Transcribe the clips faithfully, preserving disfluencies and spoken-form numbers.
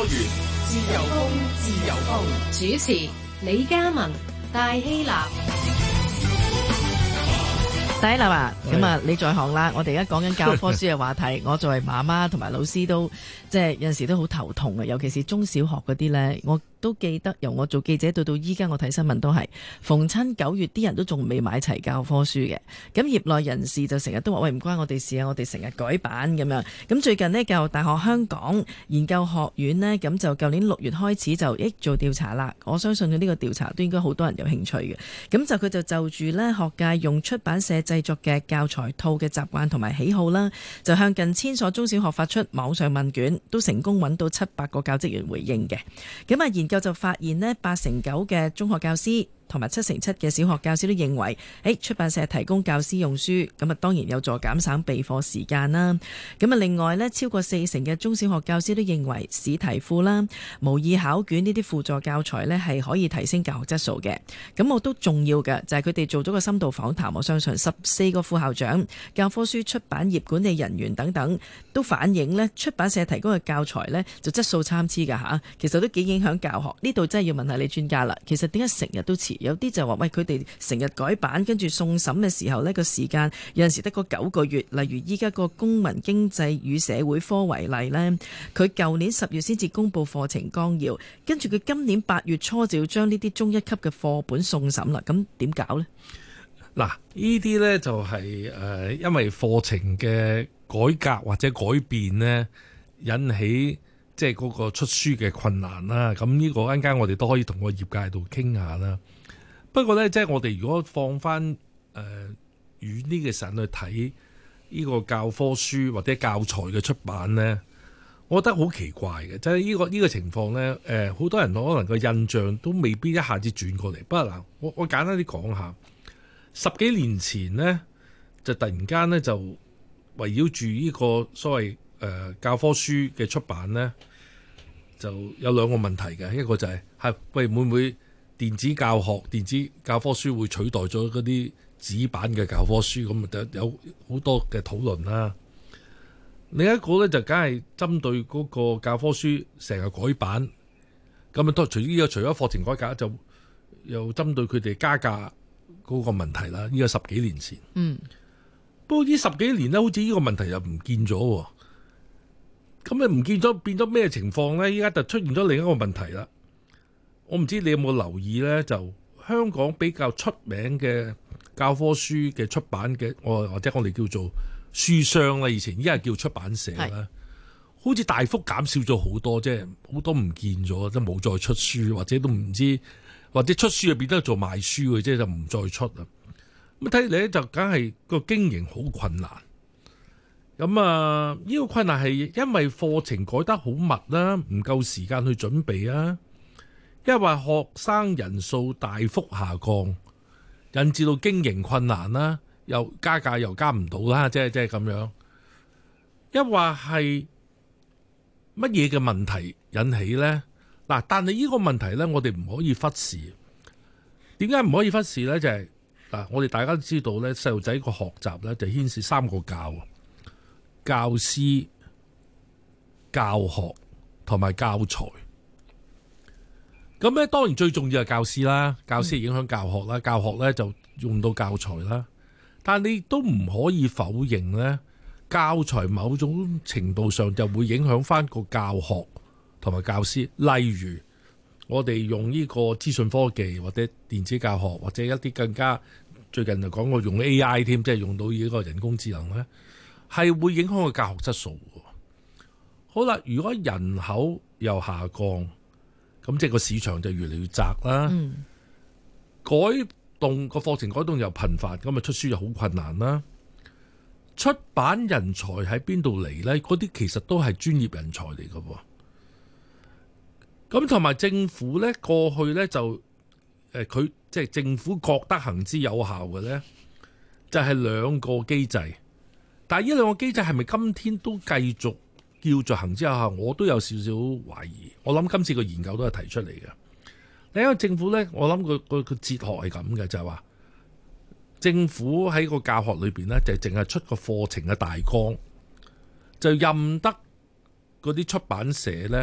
元，自由風，自由風。 主持李嘉文、戴希立。 第一啦啊，咁啊你在行啦，我哋而家講緊教科書嘅話題，我作為媽媽同埋老師都即係有陣時都好頭痛啊，尤其是中小學嗰啲呢，我都記得由我做記者到到依家我睇新聞都係逢親九月啲人都仲未買齊教科書嘅，咁業內人士就成日都話喂，唔關我哋事啊，我哋成日改版咁樣。咁最近呢，教育大學香港研究學院呢，咁就舊年六月開始就益做調查啦，我相信佢呢個調查都應該好多人有興趣嘅。咁就佢就就住呢學界用出版社製作嘅教材套嘅習慣同埋喜好啦，就向近千所中小學發出網上問卷，都成功揾到七百個教職員回應嘅。咁啊研究就發現呢，八成九嘅中學教師同埋七成七嘅小學教師都認為，誒出版社提供教師用書，咁啊當然有助減省備課時間啦。咁啊另外呢，超過四成嘅中小學教師都認為試題庫啦、模擬考卷呢啲輔助教材呢係可以提升教學質素嘅。咁我都重要嘅就係佢哋做咗個深度訪談，我相信十四個副校長、教科書出版業管理人員等等都反映呢，出版社提供嘅教材呢就質素參差㗎吓，其實都幾影響教學。呢度真係要問下你專家啦。其實點解成日都遲？有啲就話喂，佢哋成日改版，跟住送審嘅時候呢個時間有陣時得個九個月。例如依家個公民經濟與社會科為例呢，佢舊年十月先至公布課程綱要，跟住佢今年八月初就要將呢啲中一級嘅課本送審啦。咁點搞呢？ 嗱，呢啲呢就係、是、誒、呃，因為課程嘅改革或者改變呢，引起即係嗰個出書嘅困難啦。咁呢個陣間我哋都可以同個業界度傾下啦。不過呢，即係我哋如果放翻誒遠啲嘅時間去睇呢個教科書或者教材嘅出版呢，我覺得好奇怪嘅，即係呢個呢個情況呢，誒好多人可能個印象都未必一下子轉過嚟。不過嗱，我我簡單啲講下，十幾年前呢，就突然間呢，就圍繞住呢個所謂誒教科書嘅出版呢，就有兩個問題嘅，一個就係係喂會唔會電子教學、電子教科書會取代咗嗰啲紙版嘅教科書，咁就有好多嘅討論啦。另一個咧就梗係針對嗰個教科書成日改版，咁啊都除呢個除咗課程改革，就又針對佢哋加價嗰個問題啦。呢個十幾年前，嗯，不過呢十幾年咧，好似呢個問題又唔見咗，咁啊唔見咗變咗咩情況咧？依家就出現咗另一個問題啦。我唔知你有冇留意呢？就香港比較出名嘅教科書嘅出版嘅，我或者我哋叫做書商啦，以前依家叫出版社啦，好似大幅減少咗好多，即係好多唔見咗，即係冇再出書，或者都唔知，或者出書就變得做賣書嘅，即係就唔再出啦。咁睇嚟咧，就梗係個經營好困難。咁啊，呢個困難係因為課程改得好密啦，唔夠時間去準備啊。因為學生人數大幅下降，引致到經營困難啦，又加價又加唔到啦，即係即係咁樣。一話係乜嘢嘅問題引起呢？嗱，但係呢個問題呢，我哋唔可以忽視。點解唔可以忽視呢？就係、是、嗱，我哋大家都知道呢，細路仔個學習呢，就牽涉三個教：教師、教學同埋教材。咁咧，當然最重要係教師啦，教師影響教學啦，教學咧就用到教材啦。但係你都唔可以否認咧，教材某種程度上就會影響翻個教學同埋教師。例如，我哋用呢個資訊科技或者電子教學，或者一啲更加最近就講過用 A I 添，即係用到呢個人工智能咧，係會影響個教學質素嘅。好啦，如果人口又下降，咁即係個市場就越嚟越窄啦，嗯、改動個課程改動又頻繁，咁啊出書又好困難啦。出版人才喺邊度嚟呢？嗰啲其實都係專業人才嚟嘅喎。咁同埋政府呢，過去呢就誒佢即係政府覺得行之有效嘅呢，就係兩個機制。但係呢兩個機制係咪今天都繼續叫做行之有效？我都有少少懷疑。我諗今次個研究都係提出嚟嘅。另一個政府呢，我諗個個個哲學係咁嘅，就係話政府喺個教學裏邊呢，就淨係出個課程嘅大綱，就任得嗰啲出版社呢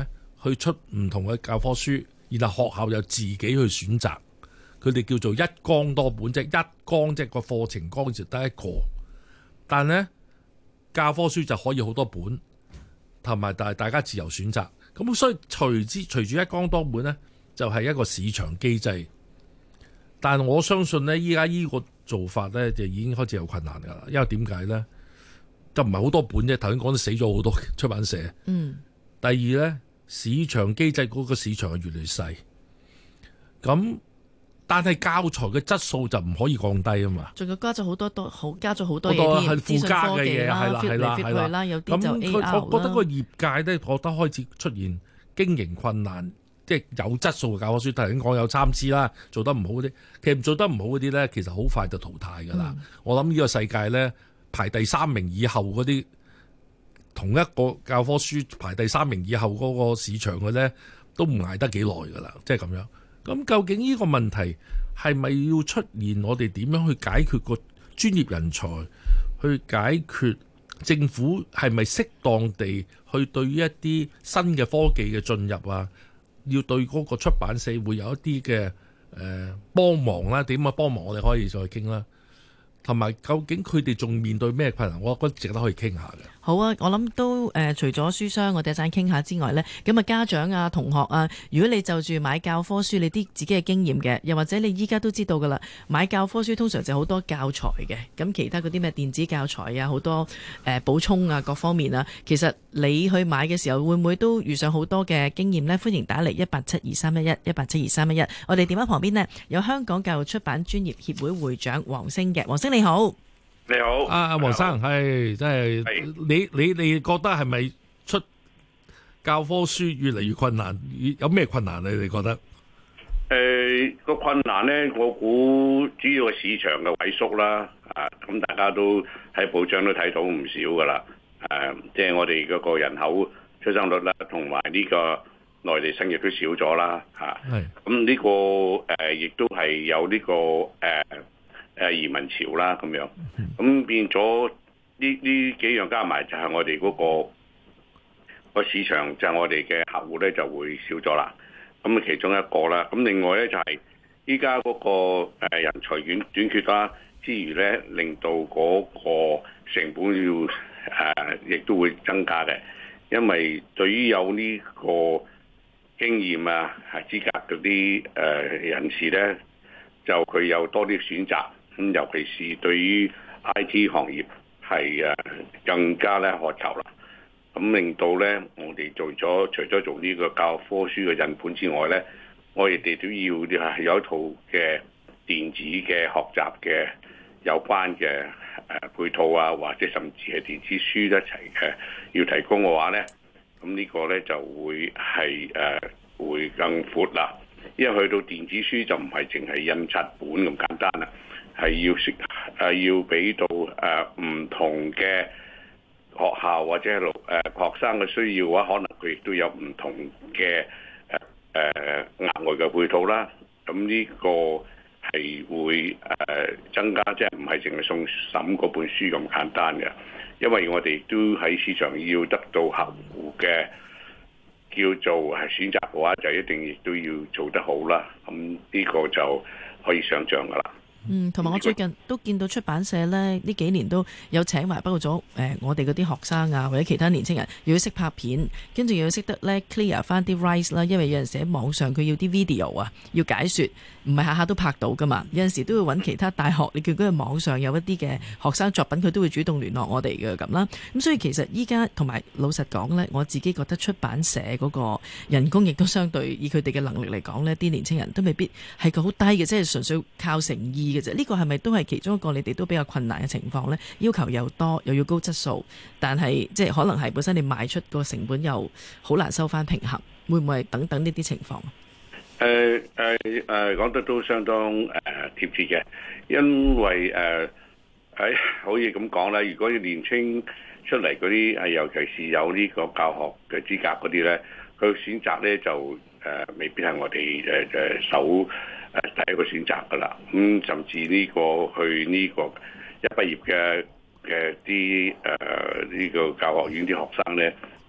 去出唔同嘅教科書，然後學校又自己去選擇，佢哋叫做一綱多本，即係一綱即係個課程綱就得一個，但呢教科書就可以好多本，同埋但係大家自由選擇。咁所以隨之隨住一綱多本呢，就係一個市場機制。但係我相信呢，依家呢個做法呢，就已經開始有困難㗎啦。因為點解呢？就唔係好多本啫。頭先講到死咗好多出版社。 嗯。 第二呢，市場機制嗰個市場係越嚟越細。咁但係教材嘅質素就唔可以降低啊嘛。 仲要加咗好多多好加咗好多嘢添，附加嘅嘢係啦係啦係啦。 有啲就 A R 啦。 咁我覺得個業界呢，覺得開始出現經營困難。即係有質素嘅教科書，頭先講有參差啦，做得唔好嗰啲，其實做得唔好嗰啲呢，其實好快就淘汰㗎啦。嗯、我諗呢個世界呢，排第三名以後嗰啲，同一個教科書排第三名以後嗰個市場嘅呢，都唔捱得幾耐㗎啦。即係咁樣。咁究竟呢個問題係咪要出現？我哋點樣去解決個專業人才？去解決政府係咪適當地去對於一啲新嘅科技嘅進入啊？要對嗰個出版社會有一啲嘅誒幫忙啦，點樣幫忙我哋可以再傾啦。同埋究竟佢哋仲面對咩困難？我覺得值得可以傾下嘅。 好啊，我諗都誒、呃，除咗書商我哋一陣傾下之外呢，咁啊家長啊、同學啊，如果你就住買教科書，你啲自己嘅經驗嘅，又或者你依家都知道噶啦，買教科書通常就好多教材嘅，咁其他嗰啲咩電子教材啊，好多誒補充啊，各方面啊，其實你去買嘅時候會唔會都遇上好多嘅經驗呢？歡迎打嚟一八七二三一一一八七二三一一，我哋電話旁邊呢，有香港教育出版專業協會會長黃星嘅，黃星你好。 你好， 阿阿黃生，係真係你你你覺得係咪出教科書越嚟越困難？有咩困難？你哋覺得？ 誒個、呃、困難咧，我估主要係市場嘅萎縮啦。啊，咁大家都喺報章都睇到唔少噶啦。誒、啊，即係我哋嗰個人口出生率啦，同埋呢個內地生育都少咗啦。嚇、啊，係。咁呢個誒亦都係有呢、這個誒。呃誒移民潮啦，咁樣，咁變咗呢呢幾樣加埋就係我哋嗰、嗰個個市場，就係我哋嘅客戶咧就會少咗啦。咁啊其中一個啦，咁另外咧就係依家嗰個誒人才短短缺啦，之餘咧令到嗰個成本要誒亦、呃、都會增加嘅，因為對於有呢個經驗啊係資格嗰啲誒人士咧，就佢有多啲選擇。咁尤其是對於 I T 行業係誒更加咧渴求啦，咁令到咧我哋做咗除咗做呢個教科書嘅印本之外咧，我哋哋都要係有一套嘅電子嘅學習嘅有關嘅誒配套啊，或者甚至係電子書一齊嘅要提供嘅話咧，咁呢個咧就會係誒會更闊啦，因為去到電子書就唔係淨係印刷本咁簡單啦。係要識係要俾到誒唔、呃、同嘅學校或者係誒、呃、學生嘅需要嘅話，可能佢亦都有唔同嘅誒誒額外嘅配套啦。咁呢個係會誒、呃、增加，即係唔係淨係送審嗰本書咁簡單嘅，因為我哋都喺市場要得到客戶嘅叫做係選擇嘅話，就一定亦都要做得好啦。咁呢個就可以想像㗎啦。 嗯，同埋我最近都見到出版社呢，呢幾年都有請埋，包括咗誒我哋嗰啲學生啊，或者其他年青人，要識拍片，跟住要識得咧 clear 翻啲 rights 啦，因為有陣時喺網上佢要啲 video 啊，要解說，唔係下下都拍到噶嘛，有陣時都要揾其他大學，你叫佢喺網上有一啲嘅學生作品，佢都會主動聯絡我哋嘅咁啦。咁所以其實依家同埋老實講呢，我自己覺得出版社嗰個人工亦都相對以佢哋嘅能力嚟講呢，啲年青人都未必係個好低嘅，即係純粹靠誠意。呢個係咪都係其中一個你哋都比較困難嘅情況呢？要求又多，又要高質素，但係即係可能係本身你賣出個成本又好難收翻平衡，會唔會係等等呢啲情況？ 誒誒誒，講得都相當誒、呃、貼切嘅，因為誒喺、呃、可以咁講啦。如果要年青出嚟嗰啲係，尤其是有呢個教學嘅資格嗰啲咧，佢選擇咧就誒、呃、未必係我哋誒誒首。誒第一個選擇㗎啦，咁、嗯、甚至呢個去呢個一畢業嘅嘅啲誒呢個教學院啲學生咧，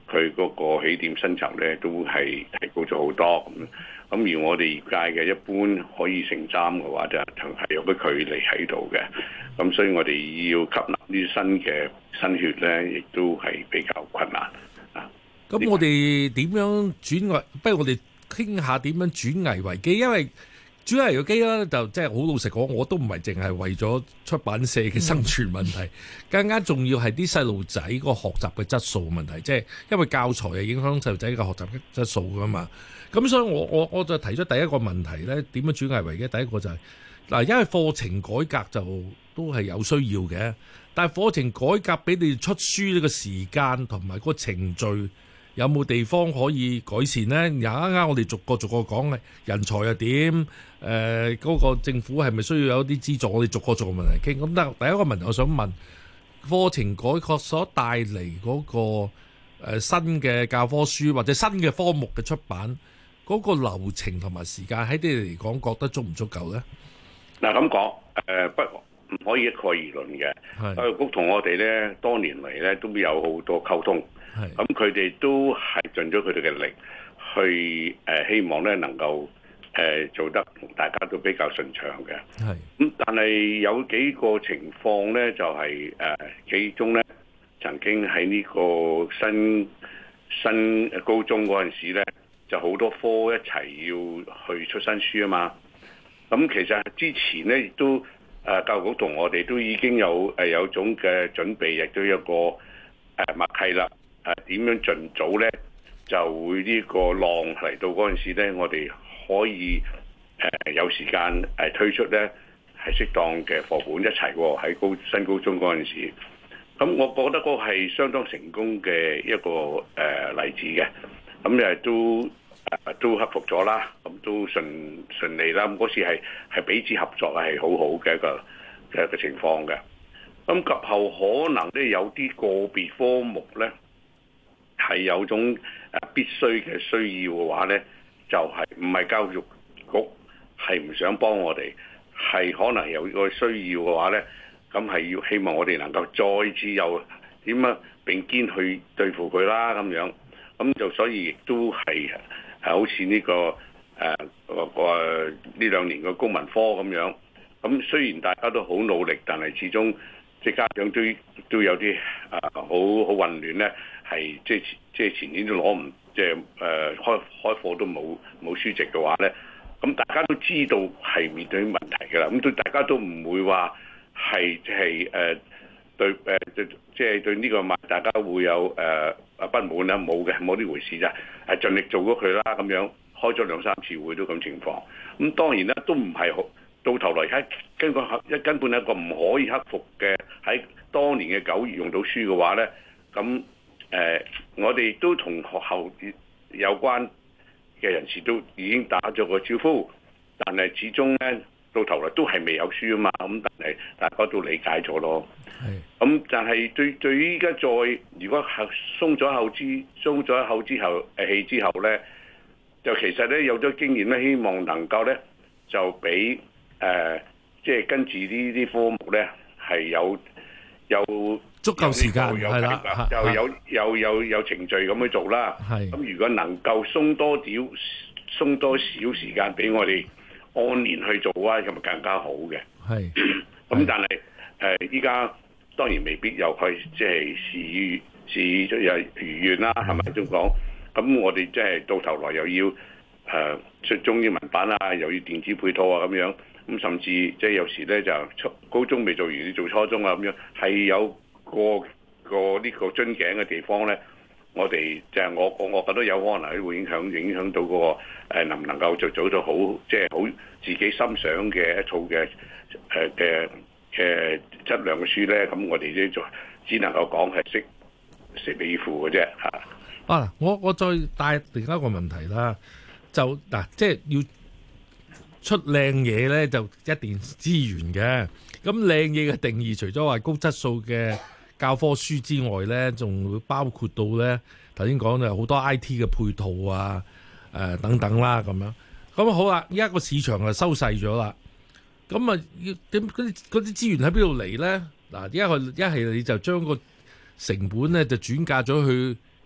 佢嗰個起點薪酬咧都係提高咗好多咁。咁而我哋業界嘅一般可以承擔嘅話，就係有個距離喺度嘅。咁所以我哋要吸納呢啲新嘅新血咧，亦都係比較困難啊。 咁我哋點樣轉危？不如我哋傾下點樣轉危為機，因為轉危為機咧，就即係好老實講，我都唔係淨係為咗出版社嘅生存問題，嗯、更加重要係啲細路仔個學習嘅質素問題，即係因為教材係影響細路仔嘅學習質素噶嘛。咁所以我我我就提出第一個問題咧，點樣轉危為機？第一個就係、是、嗱，因為課程改革就都係有需要嘅，但係課程改革俾你出書呢個時間同埋個程序有冇地方可以改善呢？而家啱我哋逐個逐個講嘅人才又點？誒、呃，嗰、那個政府係咪需要有啲資助？我哋逐個逐個問題傾。咁但係第一個問題，我想問課程改革所帶嚟嗰、那個誒、呃、新嘅教科書或者新嘅科目嘅出版。嗰個流程同埋時間喺你哋嚟講，覺得足唔足夠咧？ 嗱咁講，誒不唔可以一概而論嘅。教育局同我哋咧多年嚟咧都有好多溝通，咁佢哋都係盡咗佢哋嘅力去誒、呃，希望咧能夠誒、呃、做得同大家都比較順暢嘅。係咁，但係有幾個情況咧，就係、是、誒、呃、其中咧曾經喺呢個新新高中嗰陣時咧。就好多科一齊要去出新書啊嘛，咁其實之前咧亦都誒教育局同我哋都已經有誒有種嘅準備，亦都有個誒默契啦。誒點樣盡早咧就會呢個浪嚟到嗰陣時咧，我哋可以誒有時間誒推出咧係適當嘅課本一齊喎，喺高新高中嗰陣時。咁我覺得嗰個係相當成功嘅一個誒例子嘅。咁誒都誒都克服咗啦，咁都順順利啦。咁嗰次係係彼此合作係好好嘅一個嘅嘅情況嘅。咁及後可能咧有啲個別科目咧係有種誒必須嘅需要嘅話咧，就係唔係教育局係唔想幫我哋，係可能有個需要嘅話咧，咁係要希望我哋能夠再次有點樣並肩去對付佢啦咁樣。咁就所以亦都係係好似呢、這個誒個個呢兩年嘅公民科咁樣。咁雖然大家都好努力，但係始終即係家長都都有啲啊好好混亂咧，係即係即係前年都攞唔即係誒開開課都冇冇書籍嘅話咧，咁大家都知道係面對問題㗎啦。咁對大家都唔會話係即係誒對誒即係對呢個問大家會有誒。呃啊不滿啦，冇嘅，冇呢回事咋，係盡力做咗佢啦，咁樣開咗兩三次會都咁情況。咁當然啦，都唔係好到頭來喺根本一根本係一個唔可以克服嘅。喺當年嘅九月用到書嘅話咧，咁誒、呃、我哋都同學校有關嘅人士都已經打咗個招呼，但係始終咧到頭來都係未有書啊嘛。咁但係大家都理解咗咯。咁但係對對於依家再如果係鬆咗口之鬆咗口之後誒氣之後咧，就其實咧有咗經驗咧，希望能夠咧就俾誒即係跟住呢啲科目咧係有有足夠時間係啦， 就有有有有程序咁去做啦。咁如果能夠鬆多啲鬆多少時間俾我哋按年去做啊，咁咪更加好嘅。係咁，但係誒依家。當然未必又去即係事與事與又如願啦，係咪咁講？咁我哋即係到頭來又要誒、呃、出中英文版啊，又要電子配套啊咁樣，咁甚至即係有時咧就初高中未做完，要做初中啊咁樣，係有個個呢個樽頸嘅地方咧。我哋就係我我我覺得有可能會影響影響到嗰、那個、呃、能唔能夠做做到好即係好自己心想嘅一套嘅誒嘅。呃嘅質量嘅書咧，咁我哋呢就只能夠講係識食尾以付嘅啫嚇。 啊，我我再帶另一個問題啦，就嗱、啊，即係要出靚嘢咧，就一定資源嘅。咁靚嘢嘅定義，除咗話高質素嘅教科書之外咧，仲會包括到咧頭先講就好多 I T 嘅配套啊，誒、呃、等等啦咁樣。咁好啦，依家個市場就收細咗啦。咁啊，要點嗰啲嗰啲資源喺邊度嚟咧？嗱，一係一係你就將個成本咧就轉嫁咗去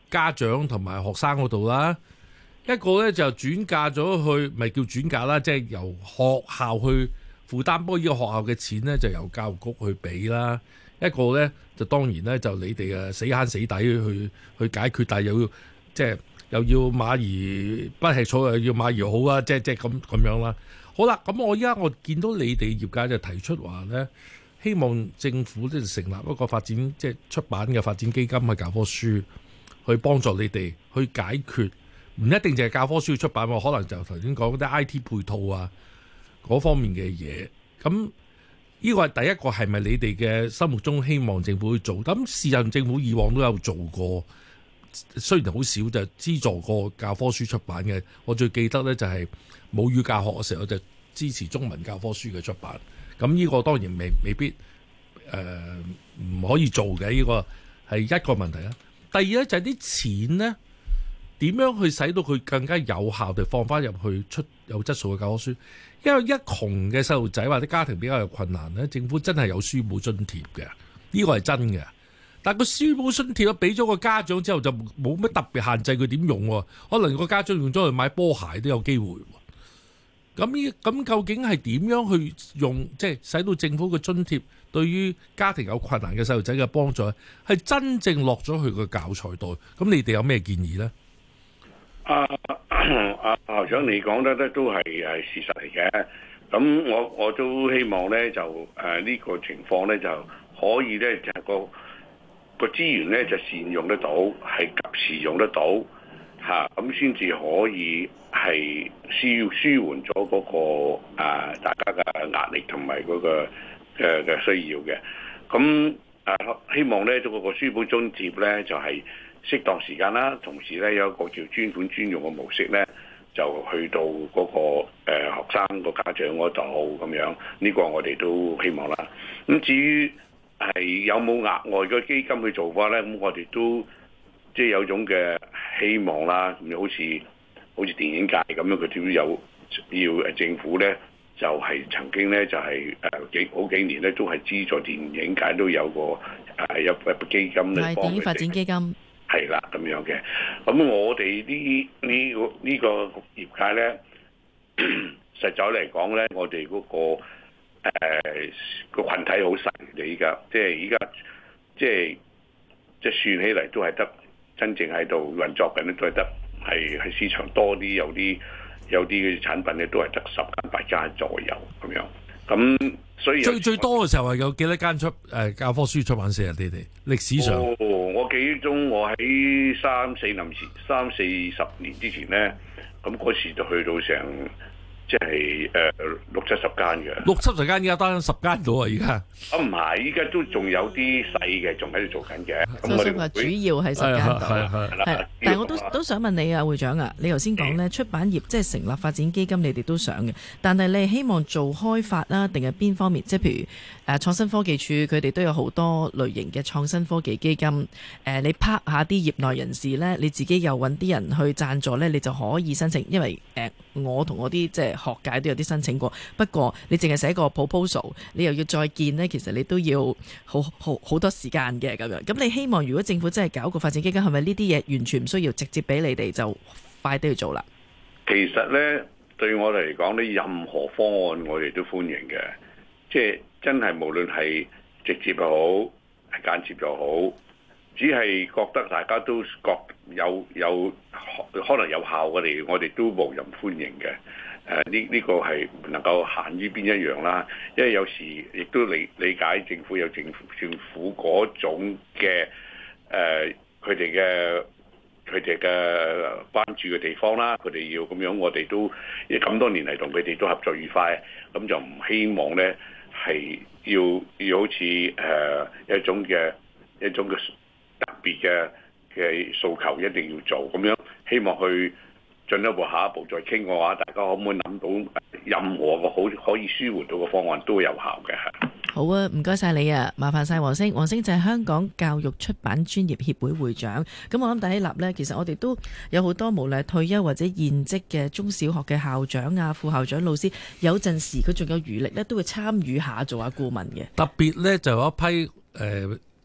家長同埋學生嗰度啦，一個呢就轉嫁咗去，咪叫轉嫁啦，即係由學校去負擔，不過呢個學校嘅錢呢，就由教育局去俾啦。一個呢，就當然呢，就你哋啊死慳死抵去去解決，但係又要即係又要馬兒不吃草，又要馬兒好啊！即係即係咁咁樣啦。好啦，咁我依家我見到你哋業界就提出話呢，希望政府咧成立一個發展即係出版嘅發展基金去教科書，去幫助你哋去解決，唔一定淨係教科書出版喎，可能就頭先講啲 I T 配套啊嗰方面嘅嘢。咁呢個係第一個，係咪你哋嘅心目中希望政府去做？咁事實上政府以往都有做過，雖然好少就資助過教科書出版嘅。我最記得呢，就係母語教學嘅時候就支持中文教科書嘅出版。咁呢個當然未未必誒唔、呃、可以做嘅，呢、這個係一個問題啦。第二呢，就係、是、啲錢呢點樣去使到佢更加有效地放翻入去出有質素嘅教科書。因為一窮嘅細路仔或者家庭比較有困難呢，政府真係有書簿津貼嘅，呢、這個係真嘅。但係個書簿津貼俾咗個家長之後，就冇乜特別限制佢點用喎。可能個家長用咗去買波鞋都有機會。咁呢咁究竟係點樣去用？即係使到政府嘅津貼對於家庭有困難嘅細路仔嘅幫助，係真正落咗去個教材度。咁你哋有咩建議呢？ 啊啊校長，你講得咧都係係事實嚟嘅。咁我我都希望咧就誒呢、呃這個情況咧就可以咧就係個個資源咧就善用得到，係及時用得到嚇，咁先至可以係舒舒緩咗嗰、那個啊、呃、大家嘅壓力同埋嗰個嘅嘅需要嘅。咁啊、呃、希望咧嗰、那個書簿津貼咧就係、是、適當時間啦，同時咧有一個叫專款專用嘅模式咧，就去到嗰、那個誒、呃、學生個家長嗰度咁樣。呢、這個我哋都希望啦。咁至於係有冇額外嘅基金去做法咧？咁我哋都即係有種嘅希望啦。咁好似好似電影界咁樣，佢都有要誒政府咧，就係、是、曾經咧就係誒幾好幾年咧，都係資助電影界都有個誒有一筆基金咧， 係電影發展基金。 係啦，咁樣嘅。咁我哋呢呢個呢個業界咧，實在嚟講咧，我哋嗰、那個誒個羣體好細嘅，依家即係依家即係即係算起嚟都係得真正喺度運作緊咧，都係得係喺市場多啲，有啲有啲嘅產品咧都係得十間八間左右咁樣。咁所以最最多嘅時候係有幾多間出誒教科書出版社啊？你哋歷史上？ 哦，我記憶中我喺三四年前、三四十年之前咧，咁嗰時就去到成即係誒六七十間嘅。六七十間，而家得十間到啊！而家啊唔係，依家都仲有啲細嘅，仲喺度做緊嘅。咁我哋話主要係十間度，係。但係我都都想問你啊，會長啊，你頭先講咧出版業即係成立發展基金，你哋都想嘅。但係你係希望做開發啦，定係邊方面？即係譬如誒創新科技署，佢哋都有好多類型嘅創新科技基金。誒，你拍下啲業內人士咧，你自己又揾啲人去贊助咧，你就可以申請。因為誒，我同我啲即係學界都有啲申請過。不過你淨係寫個 proposal，你又要再見呢，其實你都要好好好多時間嘅咁樣。咁你希望如果政府真係搞個發展基金，係咪呢啲嘢完全唔需要直接俾你哋就快啲去做啦？ 其實呢，對我哋嚟講呢，任何方案我哋都歡迎嘅。即係真係無論係直接又好，係間接又好，只係覺得大家都覺有有可能有效嘅嚟，我哋都無任歡迎嘅。誒呢呢個係唔能夠限於邊一樣啦，因為有時亦都理理解政府有政府政府嗰種嘅誒佢哋嘅佢哋嘅關注嘅地方啦，佢哋要咁樣，我哋都因為咁多年嚟同佢哋都合作愉快，咁就唔希望咧係要要好似誒、呃、一種嘅一種嘅特別嘅嘅訴求一定要做咁樣，希望去進一步下一步再傾嘅話，大家可唔可以諗到任何個好可以舒緩到嘅方案都有效嘅？ 好啊，唔該晒你啊，麻煩晒黃星。黃星就係香港教育出版專業協會會長。咁我諗第一立呢，其實我哋都有好多無論退休或者現職嘅中小學嘅校長啊、副校長、老師，有陣時佢仲有餘力呢，都會參與下做下顧問嘅。 特別呢，就有一批誒、呃、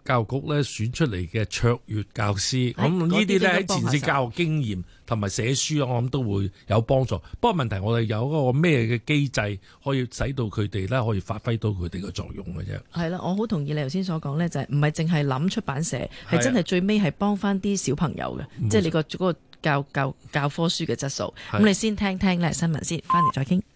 教育局咧選出嚟嘅卓越教師，咁哎呢啲咧喺前線手教育經驗同埋寫書，我諗都會有幫助。不過問題我哋有嗰個咩嘅機制可以使到佢哋咧可以發揮到佢哋嘅作用嘅啫。 係啦，我好同意你頭先所講咧，就係唔係淨係諗出版社，係真係最尾係幫翻啲小朋友嘅，即係你個嗰個教教教科書嘅質素。咁你先聽聽咧新聞先，翻嚟再傾。